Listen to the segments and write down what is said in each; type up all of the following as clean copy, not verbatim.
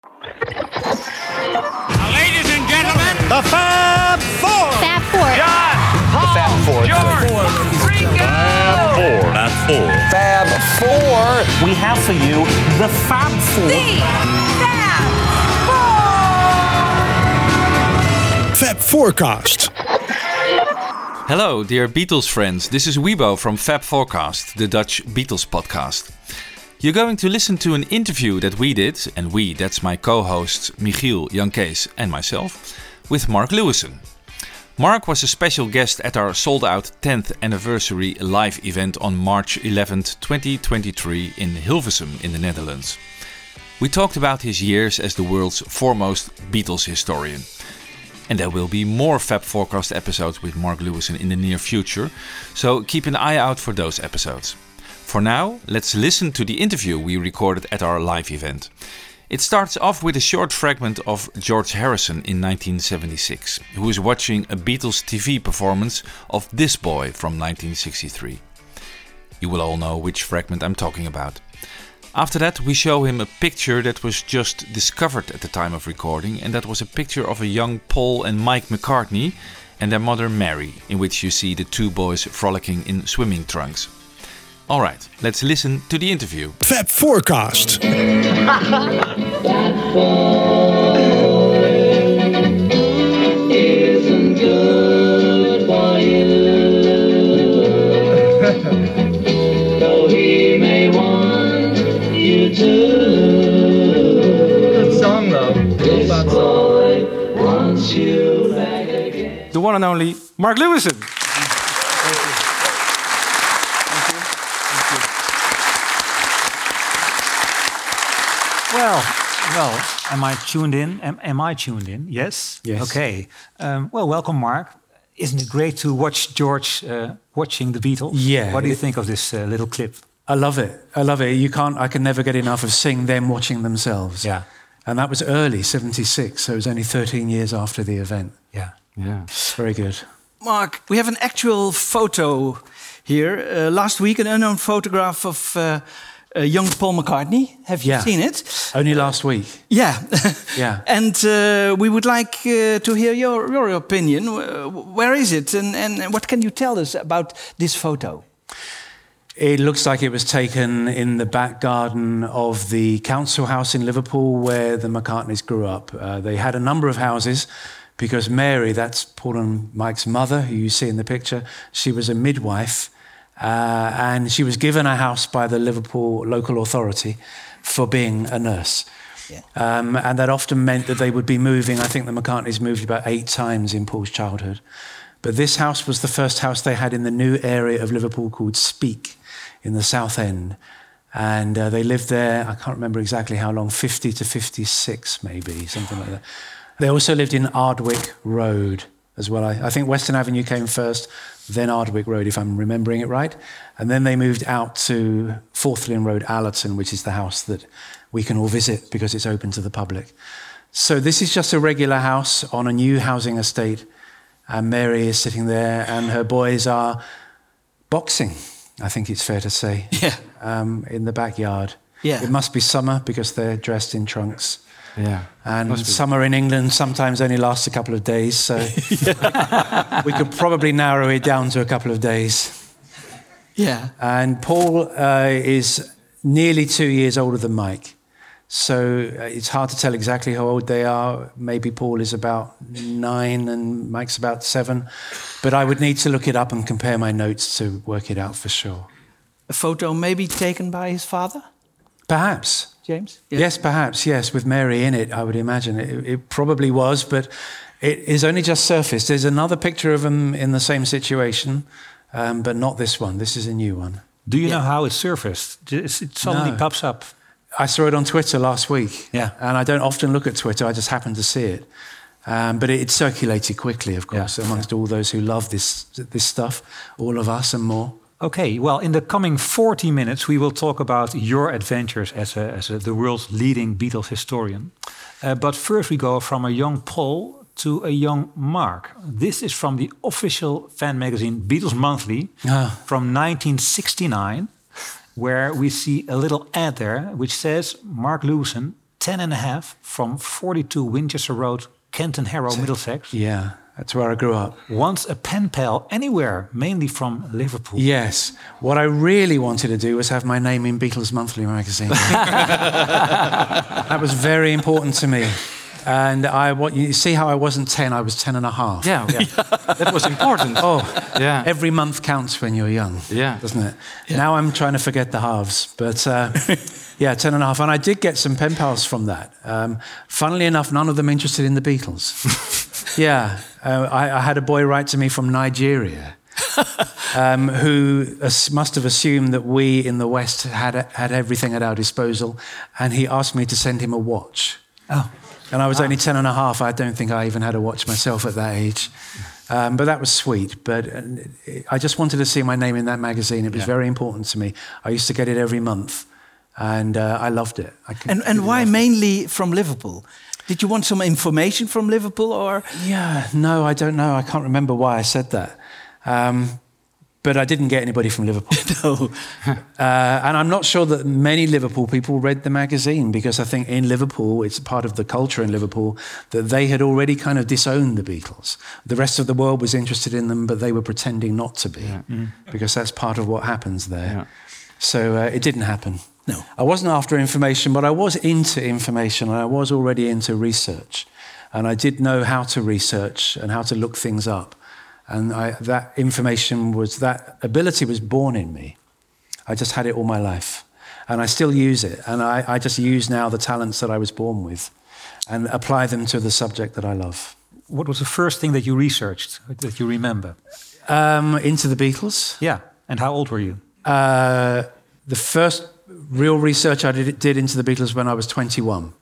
Ladies and gentlemen, The Fab Four. Fab Four. John, Paul, Fab Four. George, Ringo. Fab Four. Fab Four. We have for you the Fab Four. Fab Forecast. Hello, dear Beatles friends. This is Wiebo from Fab Forecast, the Dutch Beatles podcast. You're going to listen to an interview that we did, and we, that's my co-hosts Michiel, Jan Kees and myself, with Mark Lewisohn. Mark was a special guest at our sold-out 10th anniversary live event on March 11th, 2023 in Hilversum in the Netherlands. We talked about his years as the world's foremost Beatles historian. And there will be more Fab Forecast episodes with Mark Lewisohn in the near future, so keep an eye out for those episodes. For now, let's listen to the interview we recorded at our live event. It starts off with a short fragment of George Harrison in 1976, who is watching a Beatles TV performance of This Boy from 1963. You will all know which fragment I'm talking about. After that, we show him a picture that was just discovered at the time of recording, and that was a picture of a young Paul and Mike McCartney and their mother Mary, in which you see the two boys frolicking in swimming trunks. Alright, let's listen to the interview. Fab Forecast. Isn't good for you. Though he may want you to. Good song though. This boy wants you back again. The one and only Mark Lewisohn. Well, am I tuned in? Am I tuned in? Yes? Yes. Okay. Welcome, Mark. Isn't it great to watch George watching the Beatles? Yeah. What do you think of this little clip? I love it. I can never get enough of seeing them watching themselves. Yeah. And that was early, 76, so it was only 13 years after the event. Yeah. Very good. Mark, we have an actual photo here. Last week, an unknown photograph of young Paul McCartney. Have you seen it? Only last week. Yeah. Yeah. And we would like to hear your opinion. Where is it? And what can you tell us about this photo? It looks like it was taken in the back garden of the council house in Liverpool where the McCartneys grew up. They had a number of houses because Mary, that's Paul and Mike's mother, who you see in the picture, she was a midwife. And she was given a house by the Liverpool local authority for being a nurse. Yeah. And that often meant that they would be moving. I think the McCartneys moved about 8 times in Paul's childhood. But this house was the first house they had in the new area of Liverpool called Speke in the South End. And they lived there, I can't remember exactly how long, 50 to 56 maybe, something like that. They also lived in Ardwick Road as well. I think Western Avenue came first, then Ardwick Road, if I'm remembering it right. And then they moved out to Forthlin Road, Allerton, which is the house that we can all visit because it's open to the public. So this is just a regular house on a new housing estate. And Mary is sitting there and her boys are boxing, I think it's fair to say, in the backyard. Yeah. It must be summer because they're dressed in trunks. Yeah. And summer in England sometimes only lasts a couple of days, so we could probably narrow it down to a couple of days. Yeah. And Paul is nearly 2 years older than Mike, so it's hard to tell exactly how old they are. Maybe Paul is about 9 and Mike's about 7, but I would need to look it up and compare my notes to work it out for sure. A photo maybe taken by his father? Perhaps. James? Yeah. Yes, perhaps, yes, with Mary in it, I would imagine. It probably was, but it is only just surfaced. There's another picture of them in the same situation, but not this one. This is a new one. Do you know how it surfaced? It suddenly pops up. I saw it on Twitter last week. Yeah. And I don't often look at Twitter, I just happened to see it. But it circulated quickly, of course, amongst all those who love this stuff, all of us and more. Okay, well, in the coming 40 minutes, we will talk about your adventures as the world's leading Beatles historian. But first we go from a young Paul to a young Mark. This is from the official fan magazine Beatles Monthly from 1969, where we see a little ad there which says Mark Lewisohn 10.5 from 42 Winchester Road, Kenton Harrow, Middlesex. Yeah, that's where I grew up. Once a pen pal anywhere, mainly from Liverpool. Yes. What I really wanted to do was have my name in Beatles Monthly magazine. That was very important to me. And you see how I wasn't 10, I was 10.5. Yeah. That was important. Oh, Yeah. every month counts when you're young, doesn't it? Yeah. Now I'm trying to forget the halves. But yeah, 10.5. And I did get some pen pals from that. Funnily enough, none of them interested in the Beatles. Yeah. I had a boy write to me from Nigeria who must have assumed that we in the West had everything at our disposal. And he asked me to send him a watch. Oh. And I was only 10.5. I don't think I even had a watch myself at that age. But that was sweet. But I just wanted to see my name in that magazine. It was very important to me. I used to get it every month. And I loved it. And why mainly from Liverpool? Did you want some information from Liverpool, or? Yeah, no, I don't know. I can't remember why I said that. But I didn't get anybody from Liverpool. No. And I'm not sure that many Liverpool people read the magazine, because I think in Liverpool, it's part of the culture in Liverpool, that they had already kind of disowned the Beatles. The rest of the world was interested in them, but they were pretending not to be, because that's part of what happens there. Yeah. So it didn't happen. No. I wasn't after information, but I was into information, and I was already into research. And I did know how to research and how to look things up. And that ability was born in me. I just had it all my life. And I still use it. And I just use now the talents that I was born with and apply them to the subject that I love. What was the first thing that you researched, that you remember? Into the Beatles. Yeah. And how old were you? The first real research I did into the Beatles when I was 21.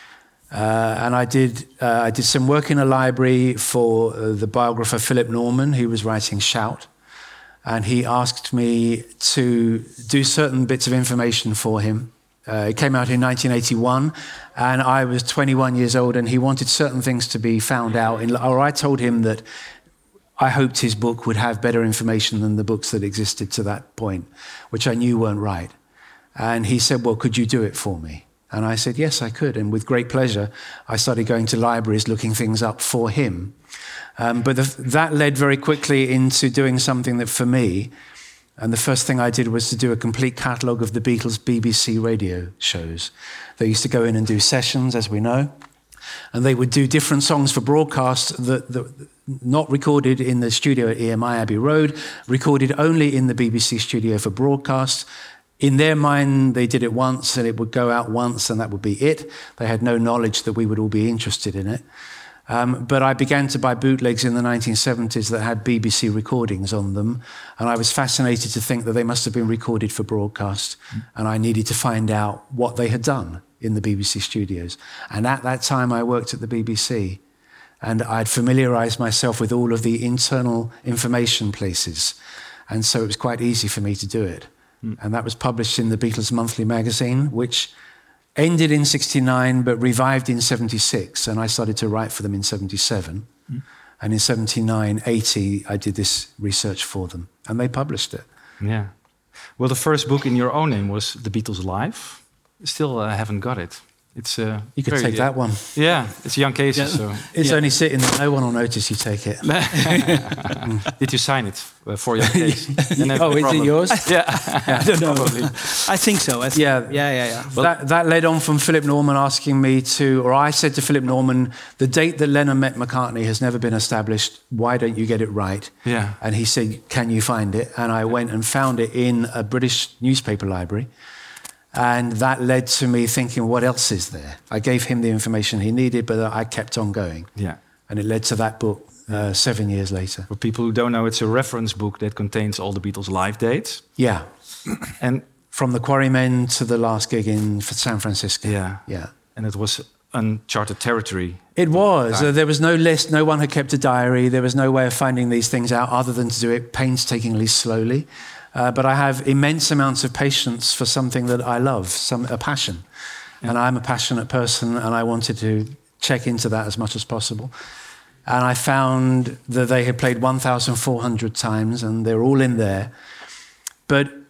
And I did some work in a library for the biographer Philip Norman, who was writing Shout. And he asked me to do certain bits of information for him. It came out in 1981, and I was 21 years old, and he wanted certain things to be found out. Or I told him that I hoped his book would have better information than the books that existed to that point, which I knew weren't right. And he said, well, could you do it for me? And I said, yes, I could. And with great pleasure, I started going to libraries, looking things up for him. But that led very quickly into doing something that for me, and the first thing I did was to do a complete catalogue of the Beatles' BBC radio shows. They used to go in and do sessions, as we know, and they would do different songs for broadcast that not recorded in the studio at EMI Abbey Road, recorded only in the BBC studio for broadcast. In their mind, they did it once and it would go out once and that would be it. They had no knowledge that we would all be interested in it. But I began to buy bootlegs in the 1970s that had BBC recordings on them. And I was fascinated to think that they must have been recorded for broadcast. And I needed to find out what they had done in the BBC studios. And at that time, I worked at the BBC. And I'd familiarized myself with all of the internal information places. And so it was quite easy for me to do it. And that was published in the Beatles Monthly magazine, which ended in 69, but revived in 76. And I started to write for them in 77. And in 79, 80, I did this research for them. And they published it. Yeah. Well, the first book in your own name was The Beatles Live. Still haven't got it. It's you could take that one. Yeah, it's Jan Kees. So. It's only sitting there. No one will notice you take it. Did you sign it for Jan Kees? Oh, is it yours? Yeah. I don't know. I think so. Yeah. Well, that led on from Philip Norman asking me to, or I said to Philip Norman, the date that Lennon met McCartney has never been established. Why don't you get it right? Yeah. And he said, can you find it? And I went and found it in a British newspaper library. And that led to me thinking, what else is there? I gave him the information he needed, but I kept on going. Yeah. And it led to that book 7 years later. For people who don't know, it's a reference book that contains all the Beatles' live dates. Yeah. And from the Quarrymen to the last gig in San Francisco. Yeah. And it was uncharted territory. It was. There was no list. No one had kept a diary. There was no way of finding these things out other than to do it painstakingly slowly. But I have immense amounts of patience for something that I love, a passion. Yeah. And I'm a passionate person, and I wanted to check into that as much as possible. And I found that they had played 1,400 times, and they're all in there. But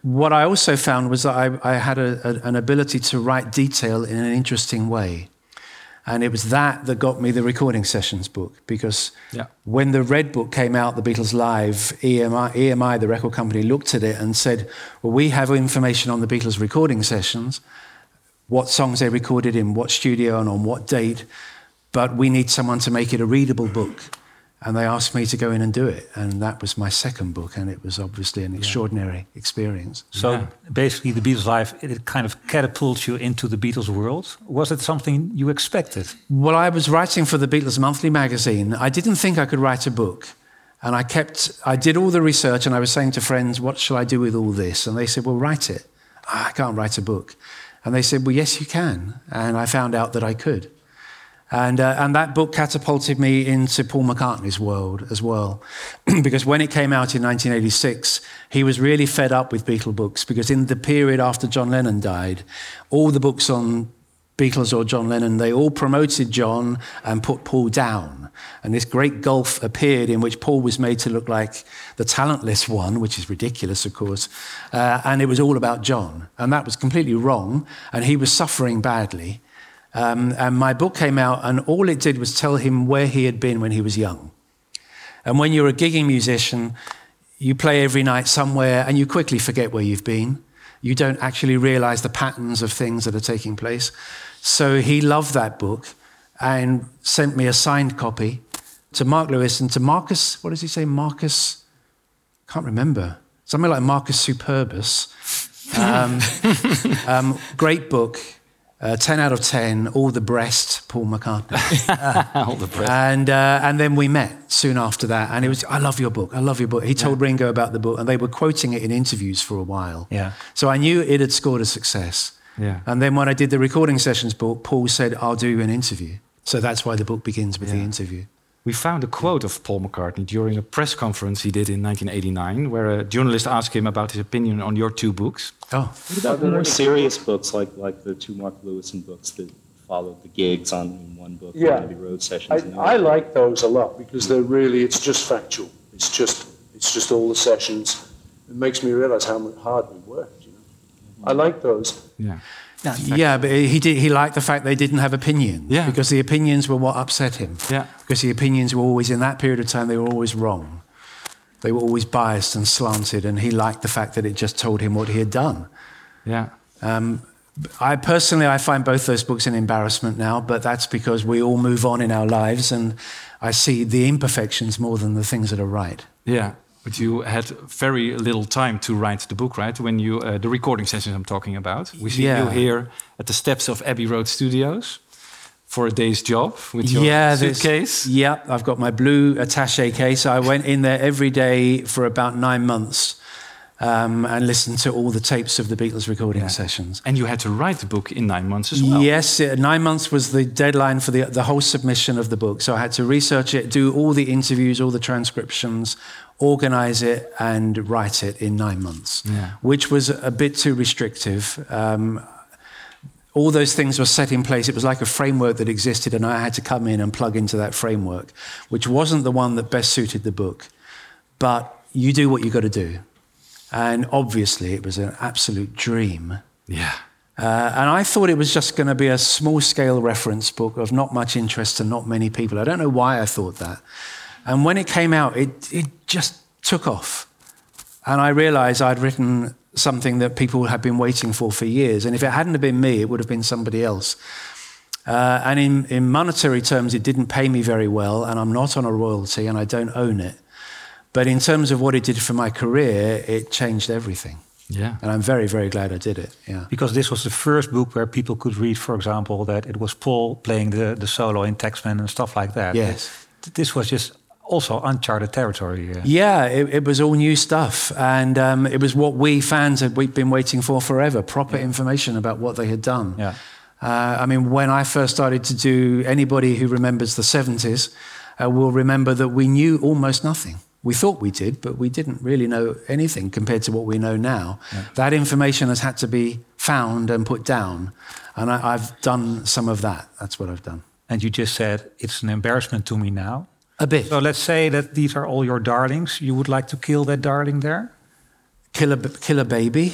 what I also found was that I had an ability to write detail in an interesting way. And it was that got me the Recording Sessions book, because when the Red Book came out, The Beatles Live, EMI, the record company, looked at it and said, well, we have information on the Beatles recording sessions, what songs they recorded in what studio and on what date, but we need someone to make it a readable book. And they asked me to go in and do it. And that was my second book, and it was obviously an extraordinary experience. So basically the Beatles Live, it kind of catapults you into the Beatles world. Was it something you expected? Well, I was writing for the Beatles Monthly magazine. I didn't think I could write a book. And I did all the research, and I was saying to friends, what shall I do with all this? And they said, well, write it. I can't write a book. And they said, well, yes, you can. And I found out that I could. And that book catapulted me into Paul McCartney's world as well. Because when it came out in 1986, he was really fed up with Beatle books, because in the period after John Lennon died, all the books on Beatles or John Lennon, they all promoted John and put Paul down. And this great gulf appeared in which Paul was made to look like the talentless one, which is ridiculous, of course. And it was all about John. And that was completely wrong. And he was suffering badly. And my book came out, and all it did was tell him where he had been when he was young. And when you're a gigging musician, you play every night somewhere, and you quickly forget where you've been. You don't actually realize the patterns of things that are taking place. So he loved that book and sent me a signed copy to Mark Lewis and to Marcus, what does he say? Marcus, can't remember. Something like Marcus Superbus. Great book. 10 out of 10, all the breast, Paul McCartney. All the breast. And then we met soon after that. And it was, I love your book, I love your book. He told Ringo about the book, and they were quoting it in interviews for a while. Yeah. So I knew it had scored a success. Yeah. And then when I did the Recording Sessions book, Paul said, I'll do you an interview. So that's why the book begins with the interview. We found a quote of Paul McCartney during a press conference he did in 1989, where a journalist asked him about his opinion on your two books. Oh. What about the more serious books, like the two Mark Lewison books that followed the gigs on in one book, the Abbey Road sessions? I like those a lot, because they're really, it's just factual. It's just all the sessions. It makes me realize how hard we worked. You know, I like those. Yeah. Yeah, but he liked the fact they didn't have opinions. Yeah. Because the opinions were what upset him. Yeah. Because the opinions were always, in that period of time, they were always wrong. They were always biased and slanted, and he liked the fact that it just told him what he had done. Yeah. I find both those books an embarrassment now, but that's because we all move on in our lives, and I see the imperfections more than the things that are right. Yeah. But you had very little time to write the book, right? When you, the recording sessions I'm talking about. We see you here at the steps of Abbey Road Studios for a day's job with your suitcase. Yeah, I've got my blue attaché case. I went in there every day for about 9 months and listened to all the tapes of the Beatles recording sessions. And you had to write the book in 9 months as well. Yes, 9 months was the deadline for the whole submission of the book. So I had to research it, do all the interviews, all the transcriptions, organize it and write it in 9 months, which was a bit too restrictive. All those things were set in place. It was like a framework that existed, and I had to come in and plug into that framework, which wasn't the one that best suited the book. But you do what you got to do. And obviously it was an absolute dream. Yeah. And I thought it was just going to be a small-scale reference book of not much interest to not many people. I don't know why I thought that. And when it came out, it just took off. And I realized I'd written something that people had been waiting for years. And if it hadn't have been me, it would have been somebody else. And in monetary terms, it didn't pay me very well, and I'm not on a royalty, and I don't own it. But in terms of what it did for my career, it changed everything. Yeah. And I'm very, very glad I did it. Yeah. Because this was the first book where people could read, for example, that it was Paul playing the solo in Taxman and stuff like that. Yes. This was just also uncharted territory. Yeah, it was all new stuff. And it was what we fans we'd been waiting for forever, proper information about what they had done. Yeah. I mean, when I first started to do, anybody who remembers the 70s will remember that we knew almost nothing. We thought we did, but we didn't really know anything compared to what we know now. Yeah. That information has had to be found and put down. And I've done some of that. That's what I've done. And you just said, it's an embarrassment to me now. A bit. So let's say that these are all your darlings. You would like to kill that darling there? Killer Baby.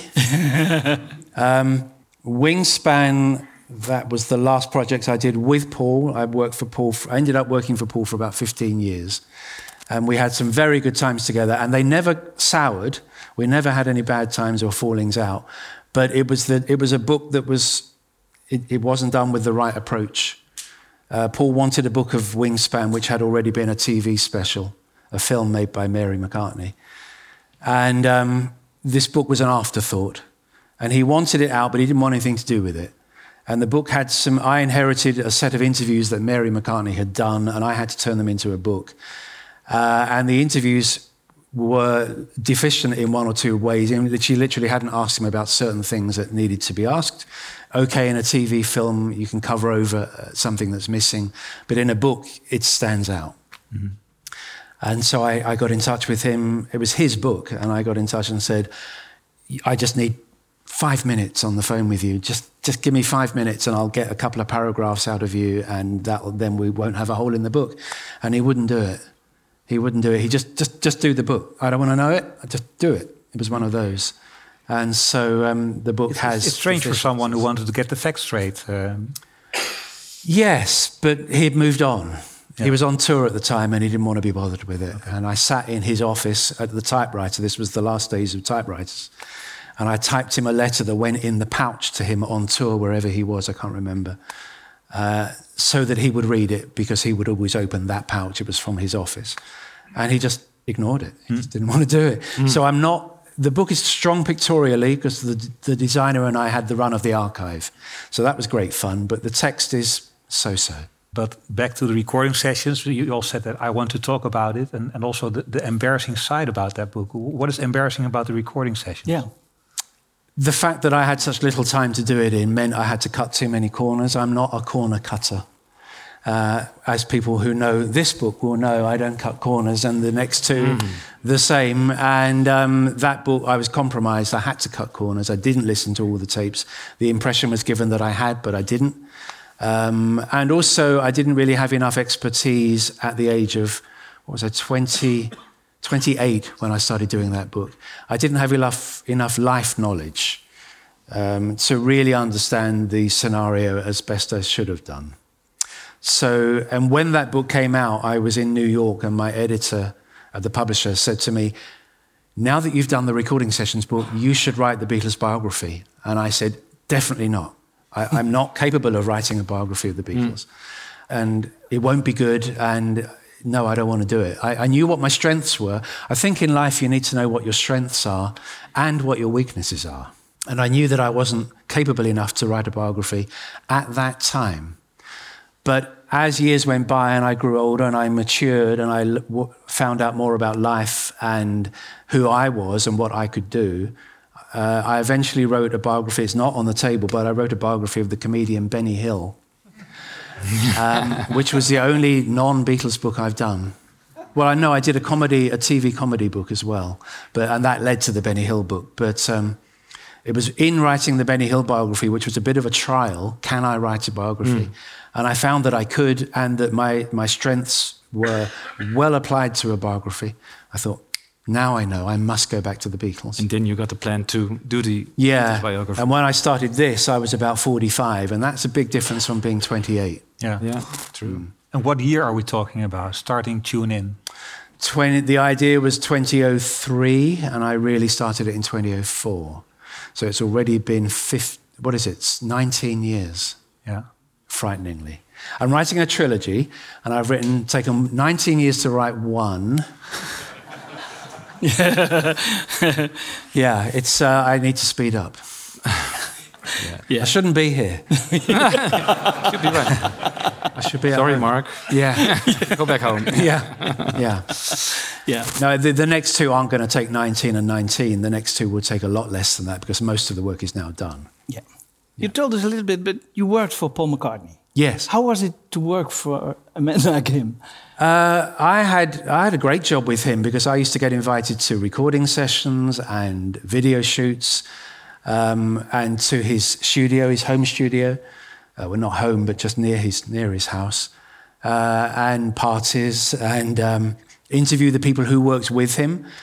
Wingspan, that was the last project I did with Paul. I ended up working for Paul for about 15 years. And we had some very good times together, and they never soured. We never had any bad times or fallings out. But it was a book that it wasn't done with the right approach. Paul wanted a book of Wingspan, which had already been a TV special, a film made by Mary McCartney. And this book was an afterthought. And he wanted it out, but he didn't want anything to do with it. And the book had I inherited a set of interviews that Mary McCartney had done, and I had to turn them into a book. And the interviews were deficient in one or two ways. She literally hadn't asked him about certain things that needed to be asked. Okay, in a TV film, you can cover over something that's missing, but in a book, it stands out. Mm-hmm. And so I got in touch with him. It was his book, and I got in touch and said, I just need 5 minutes on the phone with you. Just give me 5 minutes and I'll get a couple of paragraphs out of you, and then we won't have a hole in the book. And he wouldn't do it. He wouldn't do it. He just do the book. I don't want to know it. Just do it. It was one of those. And so the book has... It's strange for someone who wanted to get the facts straight. Yes, but he had moved on. Yeah. He was on tour at the time and he didn't want to be bothered with it. Okay. And I sat in his office at the typewriter. This was the last days of typewriters. And I typed him a letter that went in the pouch to him on tour, wherever he was, I can't remember, so that he would read it, because he would always open that pouch. It was from his office. And he just ignored it. He just didn't want to do it. So the book is strong pictorially, because the designer and I had the run of the archive. So that was great fun, but the text is so-so. But back to the recording sessions, you all said that I want to talk about it, and also the embarrassing side about that book. What is embarrassing about the recording sessions? Yeah. The fact that I had such little time to do it in meant I had to cut too many corners. I'm not a corner cutter. As people who know this book will know, I don't cut corners, and the next two the same. And that book, I was compromised. I had to cut corners. I didn't listen to all the tapes. The impression was given that I had, but I didn't. And also, I didn't really have enough expertise at the age of, 28 when I started doing that book. I didn't have enough life knowledge to really understand the scenario as best I should have done. So, and when that book came out, I was in New York, and my editor at the publisher said to me, now that you've done the recording sessions book, you should write the Beatles biography. And I said, definitely not. I'm not capable of writing a biography of the Beatles. And it won't be good, and no, I don't want to do it. I knew what my strengths were. I think in life you need to know what your strengths are and what your weaknesses are. And I knew that I wasn't capable enough to write a biography at that time. But as years went by and I grew older and I matured and I found out more about life and who I was and what I could do, I eventually wrote a biography. It's not on the table, but I wrote a biography of the comedian Benny Hill, which was the only non-Beatles book I've done. Well, I know I did a TV comedy book as well, and that led to the Benny Hill book. But it was in writing the Benny Hill biography, which was a bit of a trial. Can I write a biography? And I found that I could, and that my strengths were well applied to a biography. I thought, now I know, I must go back to the Beatles. And then you got the plan to do the Beatles biography. And when I started this, I was about 45, and that's a big difference from being 28. Yeah, true. And what year are we talking about? Starting Tune In? The idea was 2003, and I really started it in 2004. So it's already been 19 years. Yeah. Frighteningly. I'm writing a trilogy, and I've taken 19 years to write one. Yeah, it's. I need to speed up. I shouldn't be here. Should be right. I should be. Sorry, Mark. Yeah. Go back home. Yeah. No, the next two aren't going to take 19 and 19. The next two will take a lot less than that, because most of the work is now done. Yeah. You told us a little bit, but you worked for Paul McCartney. Yes. How was it to work for a man like him? I had a great job with him, because I used to get invited to recording sessions and video shoots, and to his studio, his home studio. Well, not home, but just near his house, and parties, and interview the people who worked with him.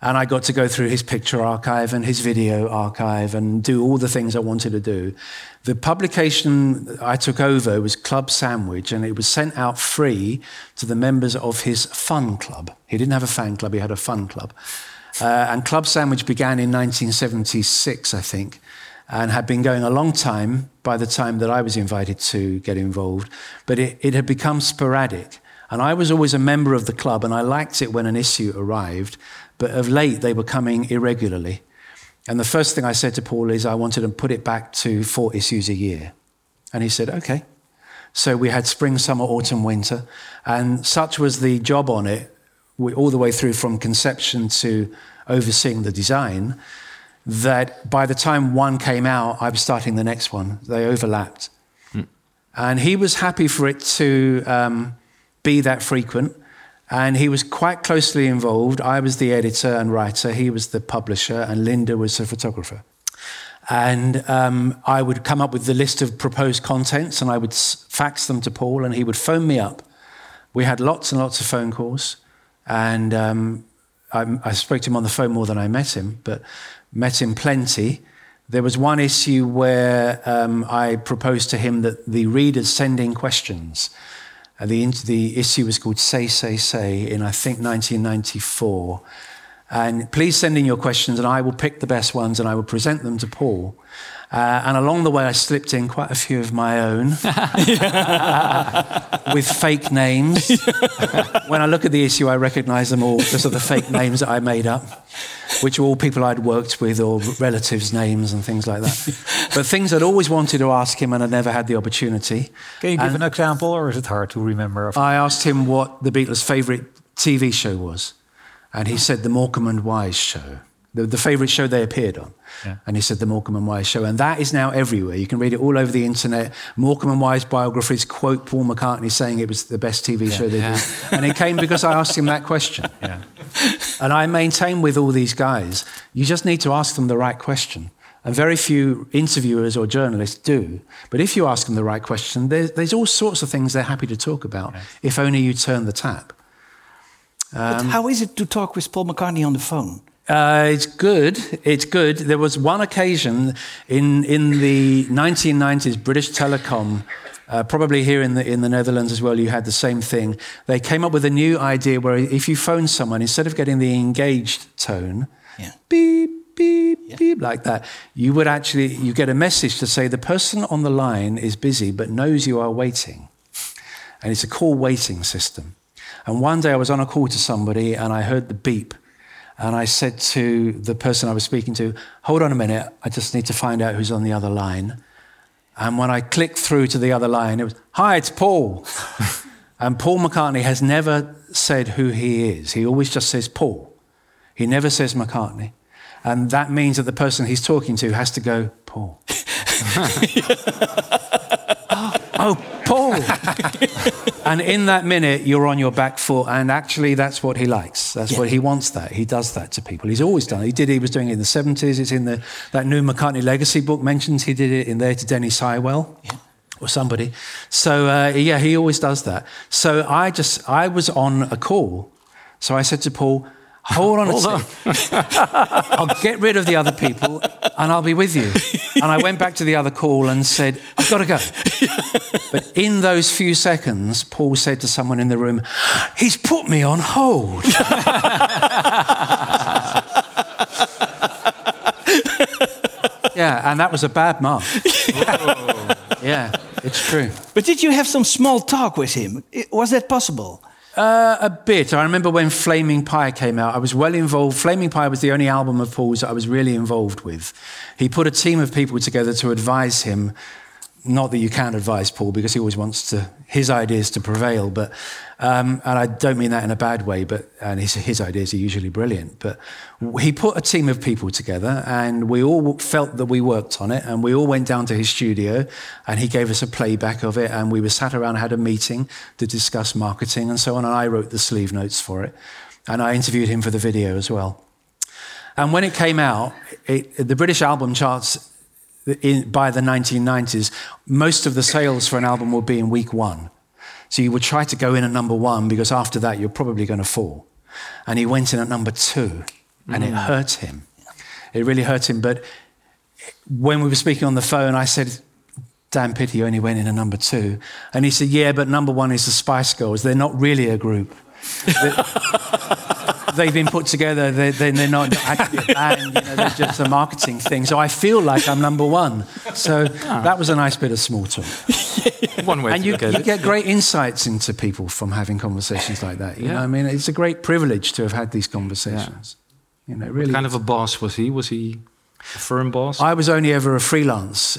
And I got to go through his picture archive and his video archive and do all the things I wanted to do. The publication I took over was Club Sandwich, and it was sent out free to the members of his fun club. He didn't have a fan club, he had a fun club. And Club Sandwich began in 1976, I think, and had been going a long time by the time that I was invited to get involved. But it had become sporadic. And I was always a member of the club, and I liked it when an issue arrived. But of late, they were coming irregularly. And the first thing I said to Paul is I wanted to put it back to 4 issues a year. And he said, okay. So we had spring, summer, autumn, winter. And such was the job on it, all the way through from conception to overseeing the design, that by the time one came out, I was starting the next one. They overlapped. And he was happy for it to be that frequent. And he was quite closely involved. I was the editor and writer. He was the publisher, and Linda was the photographer. And I would come up with the list of proposed contents, and I would fax them to Paul, and he would phone me up. We had lots and lots of phone calls. And I spoke to him on the phone more than I met him, but met him plenty. There was one issue where I proposed to him that the readers send in questions. The issue was called Say, in, I think, 1994. And please send in your questions, and I will pick the best ones, and I will present them to Paul. And along the way, I slipped in quite a few of my own with fake names. When I look at the issue, I recognise them all because of the fake names that I made up, which were all people I'd worked with or relatives' names and things like that. But things I'd always wanted to ask him and I never had the opportunity. Can you give an example, or is it hard to remember? I asked him what the Beatles' favourite TV show was. And he said the Morecambe and Wise show, the favourite show they appeared on. Yeah. And he said the Morecambe and Wise show. And that is now everywhere. You can read it all over the internet. Morecambe and Wise biographies quote Paul McCartney saying it was the best TV show they did. And it came because I asked him that question. Yeah. And I maintain with all these guys, you just need to ask them the right question. And very few interviewers or journalists do. But if you ask them the right question, there's all sorts of things they're happy to talk about, if only you turn the tap. But how is it to talk with Paul McCartney on the phone? It's good. It's good. There was one occasion in the 1990s, British Telecom, probably here in the Netherlands as well, you had the same thing. They came up with a new idea where if you phone someone, instead of getting the engaged tone, beep, beep, beep, like that, you get a message to say the person on the line is busy but knows you are waiting. And it's a call waiting system. And one day I was on a call to somebody and I heard the beep. And I said to the person I was speaking to, hold on a minute, I just need to find out who's on the other line. And when I clicked through to the other line, it was, hi, it's Paul. And Paul McCartney has never said who he is. He always just says Paul. He never says McCartney. And that means that the person he's talking to has to go, Paul. Oh, Paul. And in that minute, you're on your back foot. And actually, that's what he likes. That's what he wants that. He does that to people. He's always done it. He was doing it in the 70s. It's in that new McCartney Legacy book mentions he did it in there to Denny Sywell. Yeah. Or somebody. So, he always does that. So I was on a call. So I said to Paul, hold on a sec. I'll get rid of the other people and I'll be with you. And I went back to the other call and said, I've got to go. But in those few seconds, Paul said to someone in the room, he's put me on hold. Yeah, and that was a bad mark. Yeah, it's true. But did you have some small talk with him? Was that possible? A bit. I remember when Flaming Pie came out, I was well involved. Flaming Pie was the only album of Paul's that I was really involved with. He put a team of people together to advise him. Not that you can't advise Paul, because he always wants his ideas to prevail. But and I don't mean that in a bad way. And his ideas are usually brilliant. But he put a team of people together, and we all felt that we worked on it. And we all went down to his studio, and he gave us a playback of it. And we were sat around, had a meeting to discuss marketing and so on. And I wrote the sleeve notes for it, and I interviewed him for the video as well. And when it came out, the British album charts. By the 1990s, most of the sales for an album would be in week 1. So you would try to go in at number 1 because after that you're probably going to fall. And he went in at number 2. and it hurt him. It really hurt him. But when we were speaking on the phone, I said, damn pity you only went in a number 2. And he said, yeah, but number 1 is the Spice Girls. They're not really a group. They've been put together. They're not actually a band. They're just a marketing thing. So I feel like I'm number 1. So that was a nice bit of small talk. One way and to you look at it. get great insights into people from having conversations like that. You know, I mean, it's a great privilege to have had these conversations. Really. What kind of a boss was he? Was he a firm boss? I was only ever a freelance.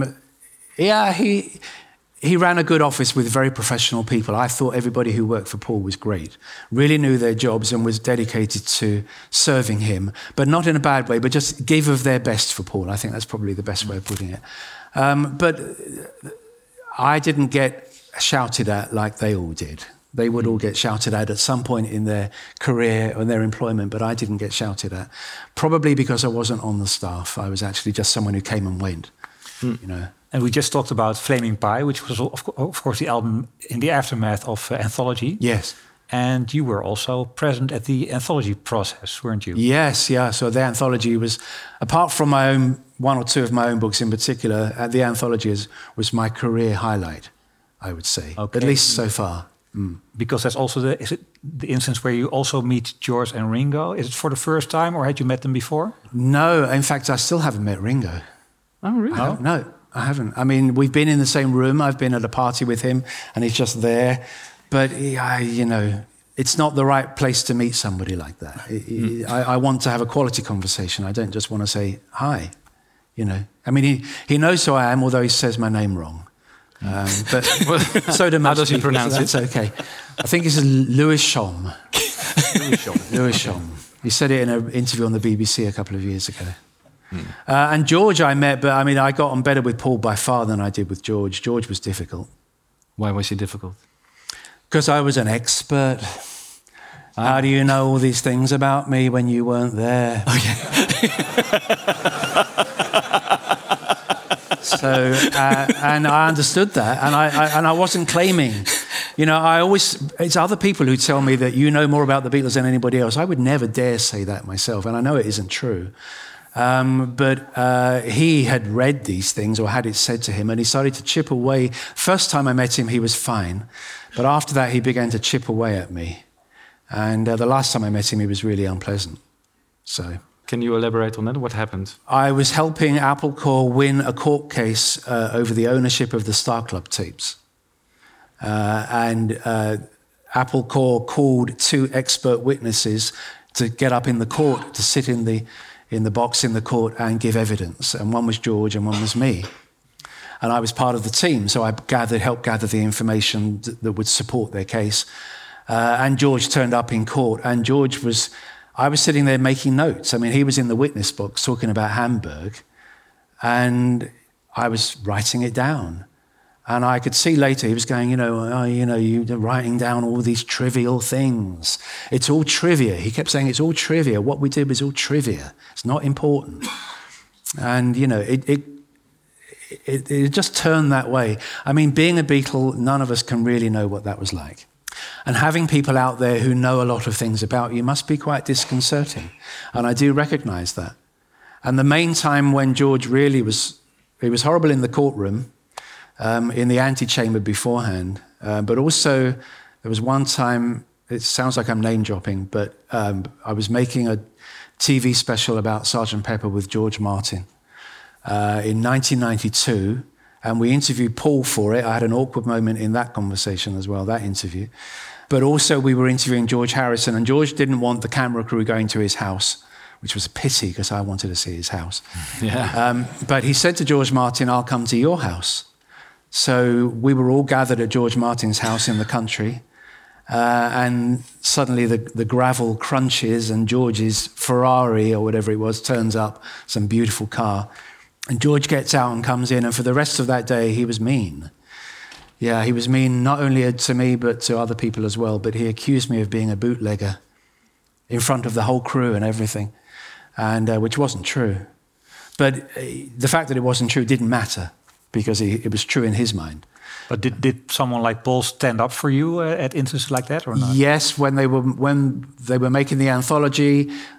He ran a good office with very professional people. I thought everybody who worked for Paul was great. Really knew their jobs and was dedicated to serving him, but not in a bad way, but just gave of their best for Paul. I think that's probably the best way of putting it. But I didn't get shouted at like they all did. They would all get shouted at some point in their career or their employment, but I didn't get shouted at. Probably because I wasn't on the staff. I was actually just someone who came and went, And we just talked about Flaming Pie, which was, of course, the album in the aftermath of Anthology. Yes. And you were also present at the Anthology process, weren't you? Yes, yeah. So the Anthology was, apart from my own, 1 or 2 of my own books in particular, the Anthology was my career highlight, I would say. Okay. At least so far. Because that's also the instance where you also meet George and Ringo. Is it for the first time, or had you met them before? No, in fact, I still haven't met Ringo. Oh, really? No, I haven't. I mean, we've been in the same room. I've been at a party with him, and he's just there. But, it's not the right place to meet somebody like that. I want to have a quality conversation. I don't just want to say, hi, I mean, he knows who I am, although he says my name wrong. But so do most How does he people, pronounce so it? that's okay. I think it's Lewisham. Lewisham. He said it in an interview on the BBC a couple of years ago. And George I met, but I mean, I got on better with Paul by far than I did with George. George was difficult. Why was he difficult? Because I was an expert. How do you know all these things about me when you weren't there? So, and I understood that, and I wasn't claiming. It's other people who tell me that you know more about the Beatles than anybody else. I would never dare say that myself, and I know it isn't true. But he had read these things or had it said to him, and he started to chip away. First time I met him, he was fine. But after that, he began to chip away at me. And the last time I met him, he was really unpleasant. So, can you elaborate on that? What happened? I was helping Apple Corps win a court case over the ownership of the Star Club tapes. And Apple Corps called 2 expert witnesses to get up in the court, to sit in the box in the court and give evidence. And one was George and one was me. And I was part of the team, so I helped gather the information that would support their case. And George turned up in court, and I was sitting there making notes. I mean, he was in the witness box talking about Hamburg, and I was writing it down. And I could see later he was going, you're writing down all these trivial things. It's all trivia. He kept saying, it's all trivia. What we did was all trivia. It's not important. And, it just turned that way. I mean, being a Beatle, none of us can really know what that was like. And having people out there who know a lot of things about you must be quite disconcerting. And I do recognize that. And the main time when George really he was horrible in the courtroom, in the antechamber beforehand. But also, there was one time, it sounds like I'm name dropping, but I was making a TV special about Sgt. Pepper with George Martin in 1992. And we interviewed Paul for it. I had an awkward moment in that conversation as well, that interview. But also we were interviewing George Harrison, and George didn't want the camera crew going to his house, which was a pity because I wanted to see his house. Yeah. But he said to George Martin, I'll come to your house. So we were all gathered at George Martin's house in the country. And suddenly the gravel crunches and George's Ferrari or whatever it was turns up, some beautiful car. And George gets out and comes in, and for the rest of that day, he was mean. Yeah, he was mean not only to me, but to other people as well. But he accused me of being a bootlegger in front of the whole crew and everything, and which wasn't true. But the fact that it wasn't true didn't matter, because it was true in his mind. But did someone like Paul stand up for you at instances like that, or not? Yes, when they were making the anthology,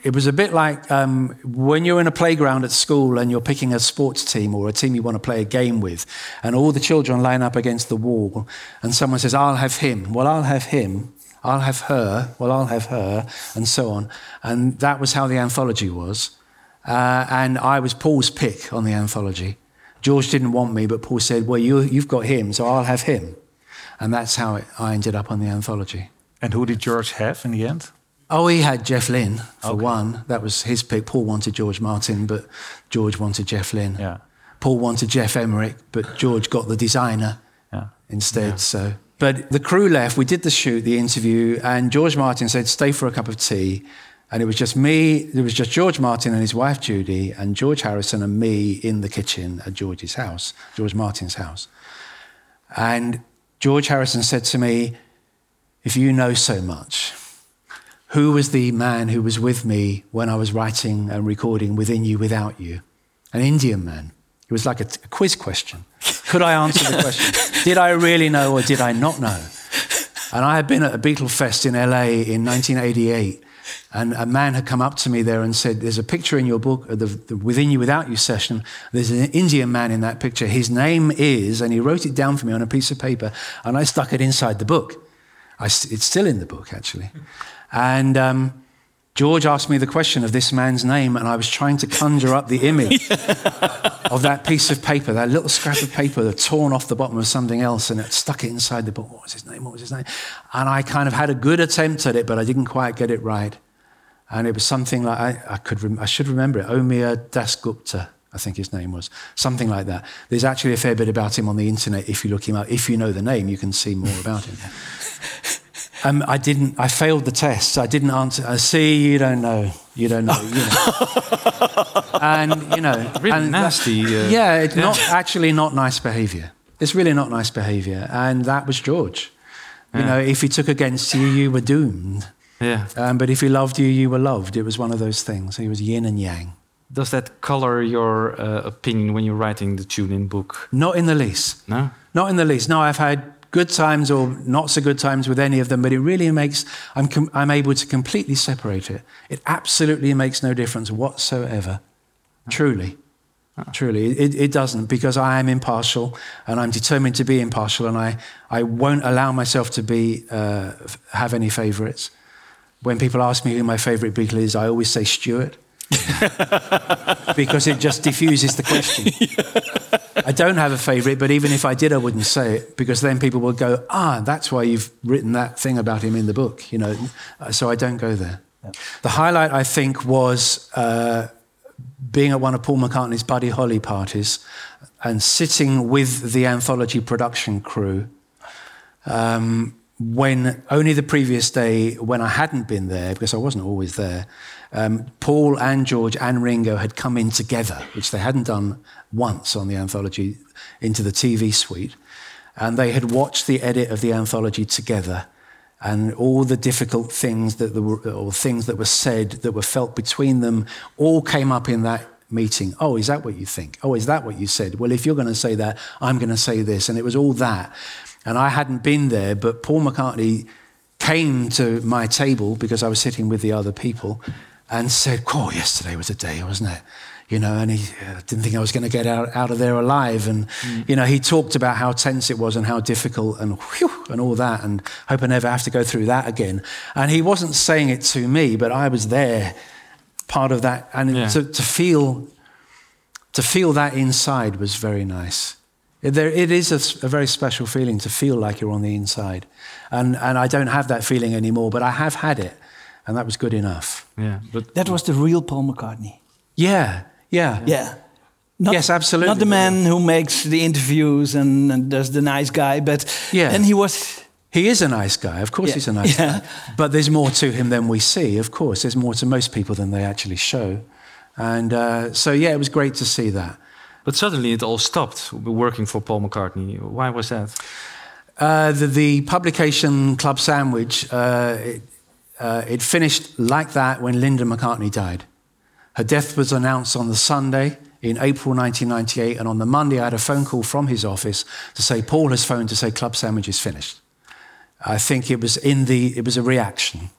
it was a bit like when you're in a playground at school and you're picking a sports team or a team you want to play a game with, and all the children line up against the wall, and someone says, I'll have him, well, I'll have him, I'll have her, well, I'll have her, and so on. And that was how the anthology was. And I was Paul's pick on the anthology. George didn't want me, but Paul said, well, you've got him, so I'll have him. And that's how I ended up on the anthology. And who did George have in the end? Oh, he had Jeff Lynne, for one. That was his pick. Paul wanted George Martin, but George wanted Jeff Lynne. Yeah. Paul wanted Jeff Emerick, but George got the designer instead. Yeah. So, but the crew left. We did the shoot, the interview, and George Martin said, stay for a cup of tea. And it was just me, there was just George Martin and his wife Judy, and George Harrison and me in the kitchen at George's house, George Martin's house. And George Harrison said to me, if you know so much, who was the man who was with me when I was writing and recording Within You, Without You? An Indian man. It was like a quiz question. Could I answer the question? Did I really know or did I not know? And I had been at a Beatle Fest in LA in 1988, and a man had come up to me there and said, there's a picture in your book, the Within You, Without You session. There's an Indian man in that picture. His name is, and he wrote it down for me on a piece of paper, and I stuck it inside the book. It's still in the book, actually. And George asked me the question of this man's name, and I was trying to conjure up the image of that piece of paper, that little scrap of paper that torn off the bottom of something else, and it stuck it inside the book. What was his name? What was his name? And I kind of had a good attempt at it, but I didn't quite get it right. And it was something like, I should remember it, Omir Dasgupta, I think his name was, something like that. There's actually a fair bit about him on the internet. If you look him up, if you know the name, you can see more about him. I failed the test. I didn't answer. See, you don't know. And, really nasty. It's not nice behavior. It's really not nice behavior. And that was George. If he took against you, you were doomed. Yeah. But if he loved you, you were loved. It was one of those things. He was yin and yang. Does that color your opinion when you're writing the tune-in book? Not in the least. No? Not in the least. No, I've had good times or not so good times with any of them, but it really makes, I'm able to completely separate it. It absolutely makes no difference whatsoever. Truly. Truly. It doesn't, because I am impartial and I'm determined to be impartial, and I won't allow myself to have any favourites. When people ask me who my favourite Beatle is, I always say Stuart. Because it just diffuses the question. I don't have a favourite, but even if I did, I wouldn't say it, because then people will go, that's why you've written that thing about him in the book, so I don't go there. Yeah. The highlight, I think, was being at one of Paul McCartney's Buddy Holly parties and sitting with the anthology production crew when only the previous day, when I hadn't been there, because I wasn't always there, Paul and George and Ringo had come in together, which they hadn't done once on the anthology, into the TV suite. And they had watched the edit of the anthology together, and all the difficult things things that were said, that were felt between them, all came up in that meeting. Oh, is that what you think? Oh, is that what you said? Well, if you're going to say that, I'm going to say this. And it was all that. And I hadn't been there, but Paul McCartney came to my table, because I was sitting with the other people, and said, yesterday was a day, wasn't it? And he didn't think I was going to get out of there alive. And, he talked about how tense it was and how difficult and all that, and hope I never have to go through that again. And he wasn't saying it to me, but I was there, part of that. And to feel that inside was very nice. It is a very special feeling to feel like you're on the inside. And I don't have that feeling anymore, but I have had it. And that was good enough. Yeah, but that was the real Paul McCartney. Yeah. Yes, absolutely. Not the man who makes the interviews and does the nice guy, but and he is a nice guy. Of course, he's a nice guy. But there's more to him than we see. Of course, there's more to most people than they actually show. And it was great to see that. But suddenly it all stopped, working for Paul McCartney. Why was that? The publication Club Sandwich, it finished like that when Linda McCartney died. Her death was announced on the Sunday in April 1998, and on the Monday I had a phone call from his office to say, Paul has phoned to say Club Sandwich is finished. I think it was a reaction.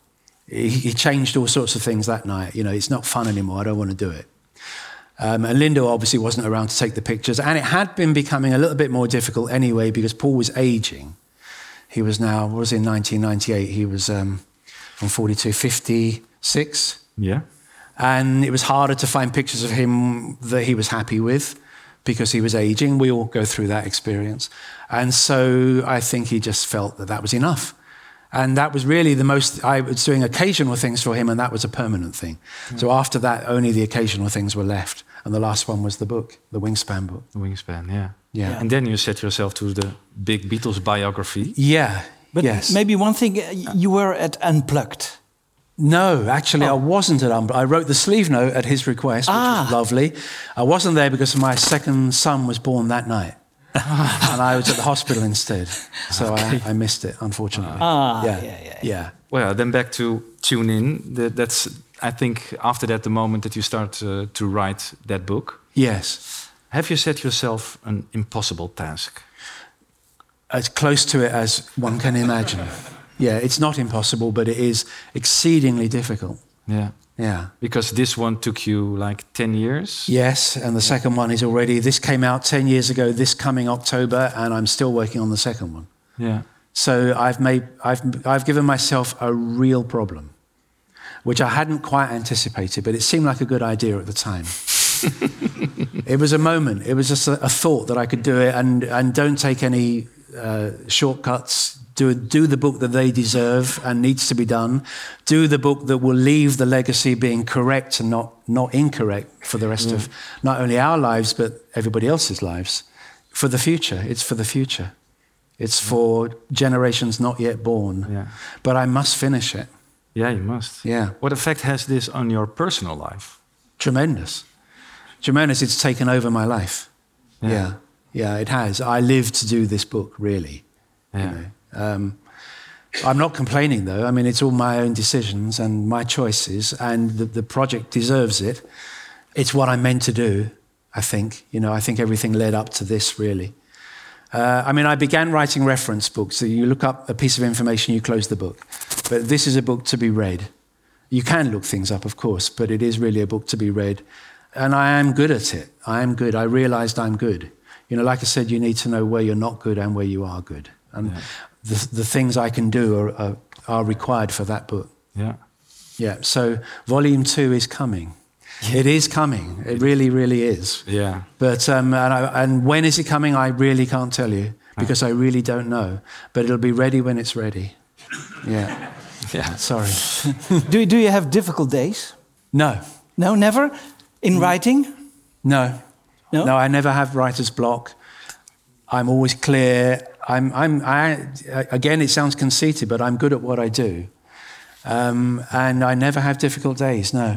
he changed all sorts of things that night. You know, it's not fun anymore. I don't want to do it. And Linda obviously wasn't around to take the pictures. And it had been becoming a little bit more difficult anyway because Paul was aging. He was now, what was in 1998? He was from 42, 56. Yeah. And it was harder to find pictures of him that he was happy with because he was aging. We all go through that experience. And so I think he just felt that was enough. And that was really the most, I was doing occasional things for him, and that was a permanent thing. Yeah. So after that, only the occasional things were left. And the last one was the book, the Wingspan book. The Wingspan, yeah. Yeah. And then you set yourself to the big Beatles biography. Yeah, but yes. Maybe one thing, you were at Unplugged. No, actually, I wasn't at Unplugged. I wrote the sleeve note at his request, which was lovely. I wasn't there because my second son was born that night. And I was at the hospital instead. So I missed it, unfortunately. Yeah. Well, then back to Tune In. That's, I think, after that, the moment that you start to write that book. Yes. Have you set yourself an impossible task? As close to it as one can imagine. Yeah, it's not impossible, but it is exceedingly difficult. Yeah. Yeah. Because this one took you like 10 years? Yes, and the second one is already, this came out 10 years ago, this coming October, and I'm still working on the second one. Yeah. So I've given myself a real problem, which I hadn't quite anticipated, but it seemed like a good idea at the time. It was a moment, it was just a thought that I could do it and don't take any shortcuts. Do the book that they deserve and needs to be done. Do the book that will leave the legacy being correct and not incorrect for the rest of not only our lives, but everybody else's lives. For the future. It's for the future. It's for generations not yet born. Yeah. But I must finish it. Yeah, you must. Yeah. What effect has this on your personal life? Tremendous. Tremendous. It's taken over my life. Yeah, it has. I live to do this book, really. Yeah. You know? I'm not complaining, though. I mean, it's all my own decisions and my choices, and the project deserves it. It's what I'm meant to do, I think. You know, I think everything led up to this, really. I mean, I began writing reference books. So you look up a piece of information, you close the book. But this is a book to be read. You can look things up, of course, but it is really a book to be read. And I am good at it. I am good. I realized I'm good. You know, like I said, you need to know where you're not good and where you are good. And the things I can do are required for that book. Yeah. Yeah. So volume 2 is coming. Yeah. It is coming. It really, really is. Yeah. But and when is it coming? I really can't tell you because I really don't know. But it'll be ready when it's ready. Yeah. Yeah. Sorry. Do you have difficult days? No. No, never? In writing? No. No, I never have writer's block. I'm always clear. Again, it sounds conceited, but I'm good at what I do. And I never have difficult days, no.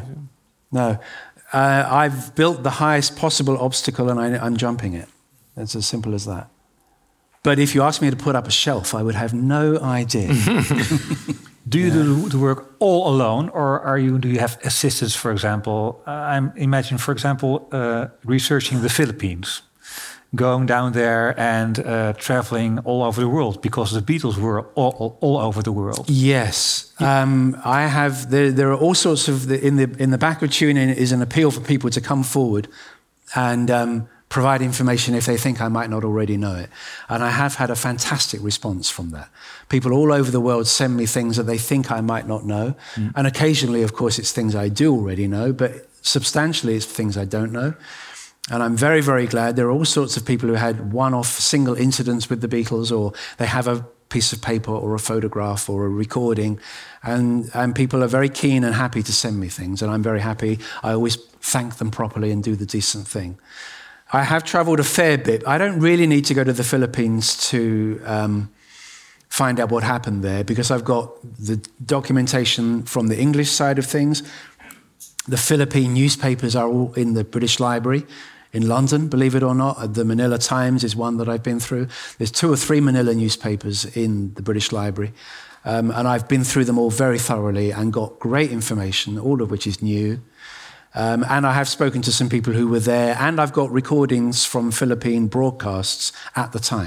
I've built the highest possible obstacle and I'm jumping it. It's as simple as that. But if you ask me to put up a shelf, I would have no idea. Do you do the work all alone, or do you have assistants, for example? Imagine, for example, researching the Philippines. Going down there and traveling all over the world because the Beatles were all over the world. Yes, I have. There are all sorts of in the back of Tune In is an appeal for people to come forward and provide information if they think I might not already know it. And I have had a fantastic response from that. People all over the world send me things that they think I might not know, and occasionally, of course, it's things I do already know, but substantially, it's things I don't know. And I'm very, very glad. There are all sorts of people who had one-off single incidents with the Beatles, or they have a piece of paper or a photograph or a recording. And people are very keen and happy to send me things. And I'm very happy. I always thank them properly and do the decent thing. I have traveled a fair bit. I don't really need to go to the Philippines to find out what happened there because I've got the documentation from the English side of things. The Philippine newspapers are all in the British Library in London, believe it or not. The Manila Times is one that I've been through. There's 2 or 3 Manila newspapers in the British Library. And I've been through them all very thoroughly and got great information, all of which is new. And I have spoken to some people who were there, and I've got recordings from Philippine broadcasts at the time.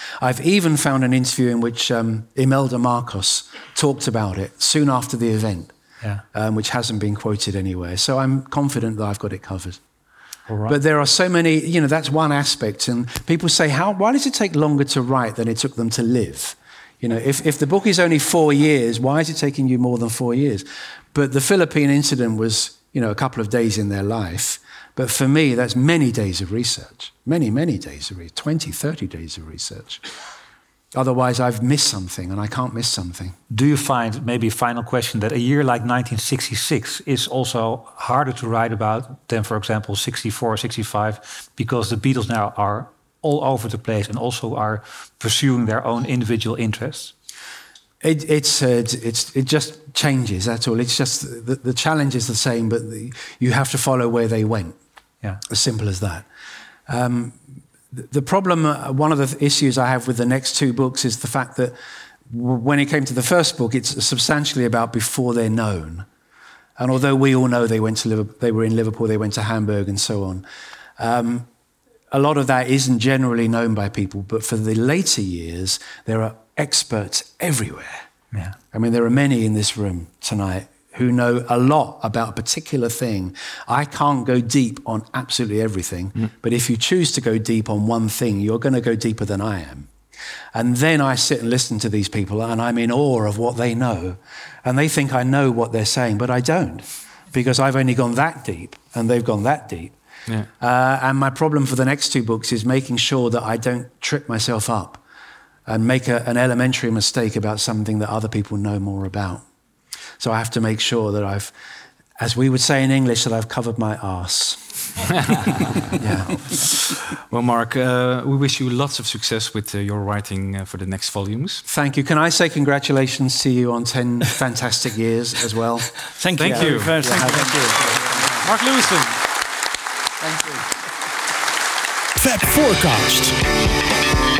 I've even found an interview in which Imelda Marcos talked about it soon after the event, which hasn't been quoted anywhere. So I'm confident that I've got it covered. All right. But there are so many, that's one aspect. And people say, why does it take longer to write than it took them to live? If the book is only 4 years, why is it taking you more than 4 years? But the Philippine incident was, a couple of days in their life. But for me, that's many days of research. Many, many days of research. 20, 30 days of research. Otherwise, I've missed something, and I can't miss something. Do you find, maybe a final question, that a year like 1966 is also harder to write about than, for example, 64 or 65, because the Beatles now are all over the place and also are pursuing their own individual interests? It just changes, that's all. It's just the challenge is the same, but you have to follow where they went. Yeah. As simple as that. The problem, one of the issues I have with the next 2 books is the fact that when it came to the first book, it's substantially about before they're known. And although we all know they were in Liverpool, they went to Hamburg and so on, a lot of that isn't generally known by people. But for the later years, there are experts everywhere. Yeah. I mean, there are many in this room tonight who know a lot about a particular thing. I can't go deep on absolutely everything, but if you choose to go deep on one thing, you're going to go deeper than I am. And then I sit and listen to these people, and I'm in awe of what they know. And they think I know what they're saying, but I don't, because I've only gone that deep, and they've gone that deep. Yeah. And my problem for the next 2 books is making sure that I don't trip myself up and make an elementary mistake about something that other people know more about. So I have to make sure that I've, as we would say in English, that I've covered my arse. Yeah. Well, Mark, we wish you lots of success with your writing for the next volumes. Thank you. Can I say congratulations to you on 10 fantastic years as well? Thank you. Thank you. Thank you. Mark Lewisohn. Thank you. Fab Forecast.